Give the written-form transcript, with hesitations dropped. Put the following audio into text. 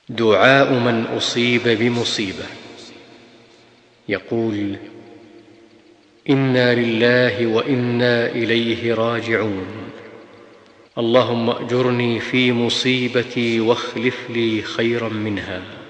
دعاء من أصيب بمصيبة. يقول: إنا لله وإنا إليه راجعون، اللهم أجرني في مصيبتي واخلف لي خيرا منها.